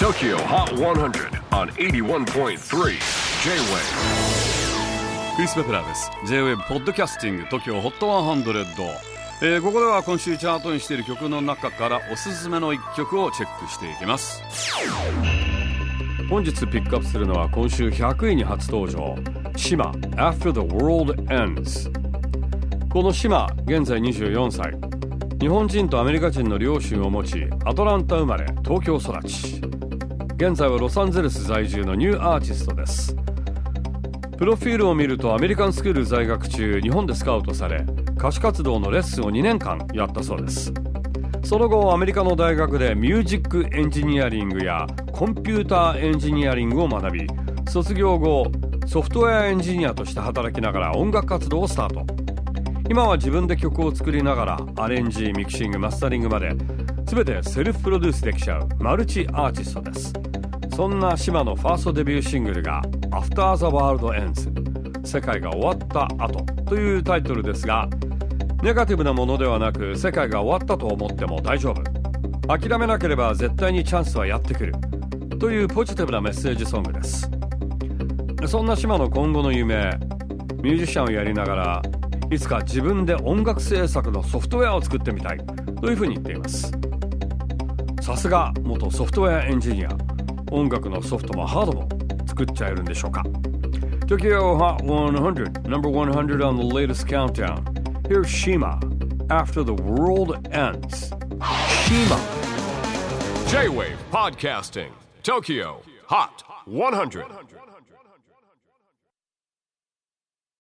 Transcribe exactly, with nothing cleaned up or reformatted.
Tokyo Hot one hundred on エイティワンポイントスリー J-Wave。 クリス・ベプラーです。 J-Wave ポッドキャスティング Tokyo Hot ワンハンドレッド、えー、ここでは今週チャートにしている曲の中からおすすめのいっきょくをチェックしていきます。本日ピックアップするのは今週ひゃくいに初登場、シマ After the World Ends。 このシマ、現在にじゅうよんさい、日本人とアメリカ人の両親を持ち、アトランタ生まれ、東京育ち、現在はロサンゼルス在住のニューアーティストです。プロフィールを見るとアメリカンスクール在学中、日本でスカウトされ、歌手活動のレッスンをにねんかんやったそうです。その後アメリカの大学でミュージックエンジニアリングやコンピューターエンジニアリングを学び、卒業後ソフトウェアエンジニアとして働きながら音楽活動をスタート。今は自分で曲を作りながらアレンジ、ミキシング、マスタリングまで全てセルフプロデュースできちゃうマルチアーティストです。そんなシマのファーストデビューシングルが After the World Ends、 世界が終わった後というタイトルですが、ネガティブなものではなく、世界が終わったと思っても大丈夫、諦めなければ絶対にチャンスはやってくるというポジティブなメッセージソングです。そんなシマの今後の夢、ミュージシャンをやりながらいつか自分で音楽制作のソフトウェアを作ってみたいというふうに言っています。さすが元ソフトウェアエンジニア、音楽のソフトもハードも作っちゃえるんでしょうか。 Tokyo Hot one hundred, number one hundred on the latest countdown. Here's Shima, After the World Ends. Shima J-Wave Podcasting Tokyo Hot one hundred.